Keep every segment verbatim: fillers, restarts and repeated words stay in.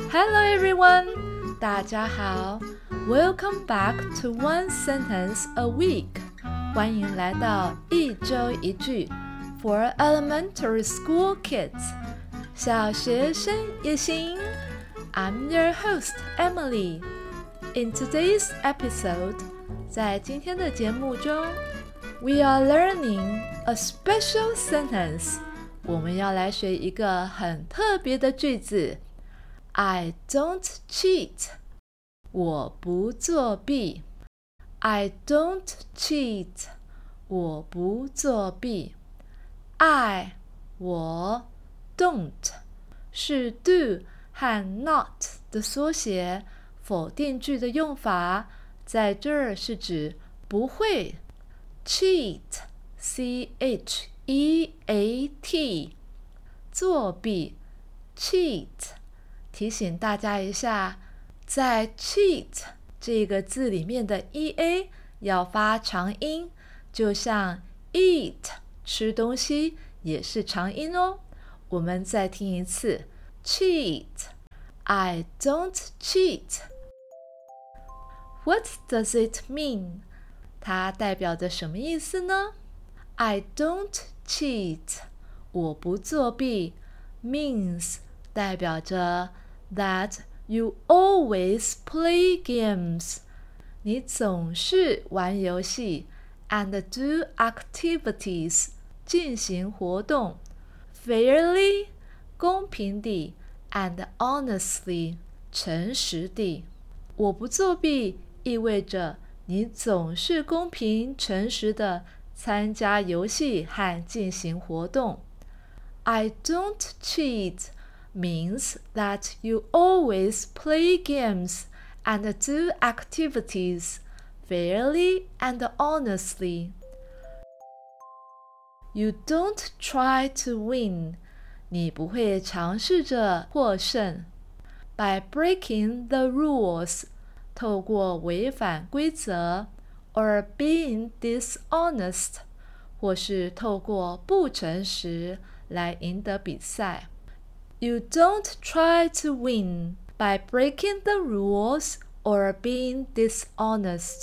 Hello everyone， 大家好 ，Welcome back to One Sentence a Week， 欢迎来到一周一句 for elementary school kids， 小学生也行。I'm your host Emily. In today's episode， 在今天的节目中 ，we are learning a special sentence。我们要来学一个很特别的句子。I don't cheat. 我不作弊。I don't cheat. 我不作弊。I 我 don't 是 do 和 not 的缩写，否定句的用法，在这儿是指不会。Cheat C H E A T 作弊 cheat。提醒大家一下，在 cheat 这个字里面的 ea 要发长音，就像 eat 吃东西也是长音哦。我们再听一次 cheat I don't cheat. What does it mean? 它代表着什么意思呢？ I don't cheat 我不作弊 means 代表着That you always play games. 你总是玩游戏 and do activities 进行活动 fairly 公平地 and honestly 诚实地。我不作弊意味着你总是公平诚实地参加游戏和进行活动。I don't cheat means that you always play games and do activities fairly and honestly. You don't try to win. 你不会尝试着获胜。By breaking the rules, 透过违反规则 or being dishonest, 或是透过不诚实来赢得比赛。You don't try to win by breaking the rules or being dishonest.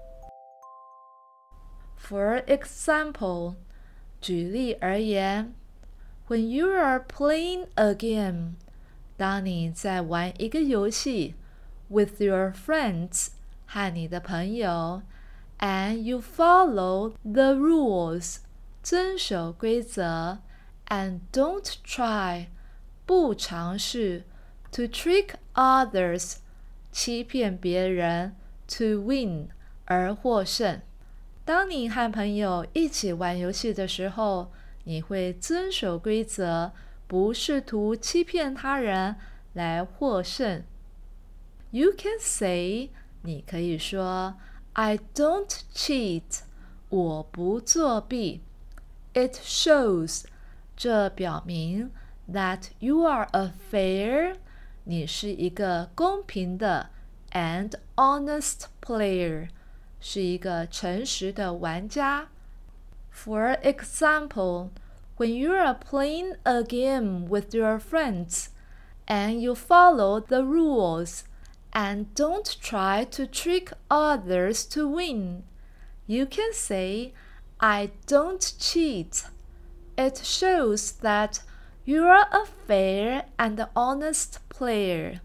For example, 举例而言 When you are playing a game, 当你在玩一个游戏 with your friends 和你的朋友 and you follow the rules 遵守规则 and don't try不尝试 to trick others 欺骗别人 to win 而获胜。当你和朋友一起玩游戏的时候，你会遵守规则，不试图欺骗他人来获胜。You can say 你可以说 I don't cheat 我不作弊。It shows 这表明That you are a fair 你是一个公平的 and honest player 是一个诚实的玩家。For example, when you are playing a game with your friends and you follow the rules and don't try to trick others to win, you can say, I don't cheat. It shows that You are a fair and honest player.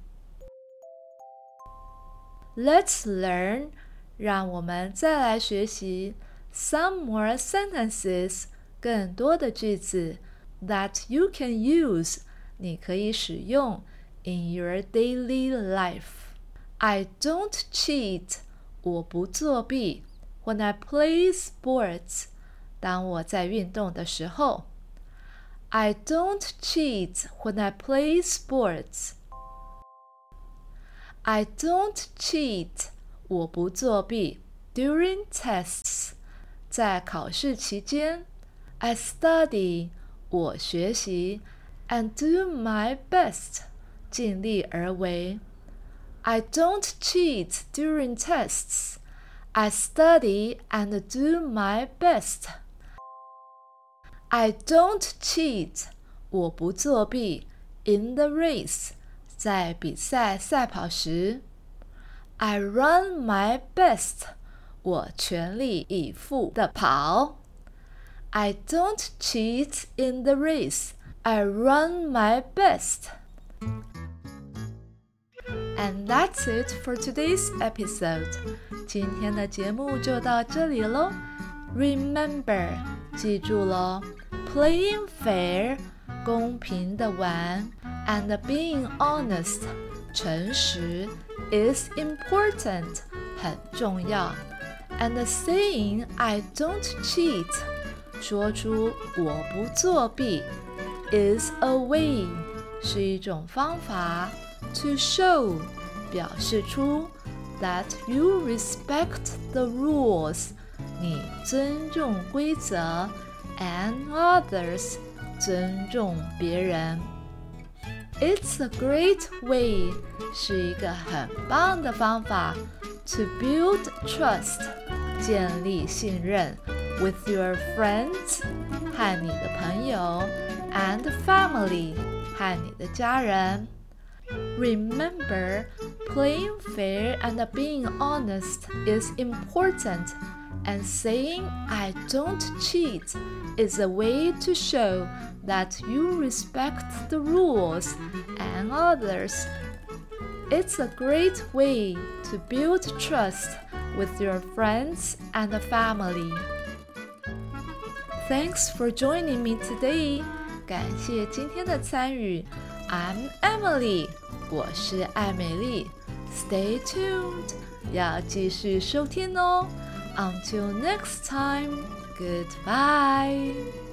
Let's learn. 让我们再来学习 some more sentences 更多的句子 that you can use 你可以使用 in your daily life. I don't cheat 我不作弊 when I play sports 当我在运动的时候。I don't cheat when I play sports. I don't cheat 我不作弊 during tests 在考试期间。I study 我学习 and do my best 尽力而为。I don't cheat during tests. I study and do my best.I don't cheat 我不作弊 in the race 在比赛赛跑时 I run my best， 我全力以赴地跑。I don't cheat in the race, I run my best. And that's it for today's episode. 今天的节目就到这里咯。Remember， 记住咯 ，playing fair， 公平的玩 ，and being honest， 诚实 is important， 很重要。And saying I don't cheat， 说出我不作弊 is a way， 是一种方法。To show， 表示出 that you respect the rules， 你尊重规则 and others， 尊重别人。It's a great way， 是一个很棒的方法 to build trust， 建立信任 with your friends， 和你的朋友 and family， 和你的家人。Remember, playing fair and being honest is important, and saying I don't cheat is a way to show that you respect the rules and others. It's a great way to build trust with your friends and family. Thanks for joining me today. 感谢今天的参与。I'm Emily， 我是艾美丽。Stay tuned， 要继续收听哦。Until next time, goodbye.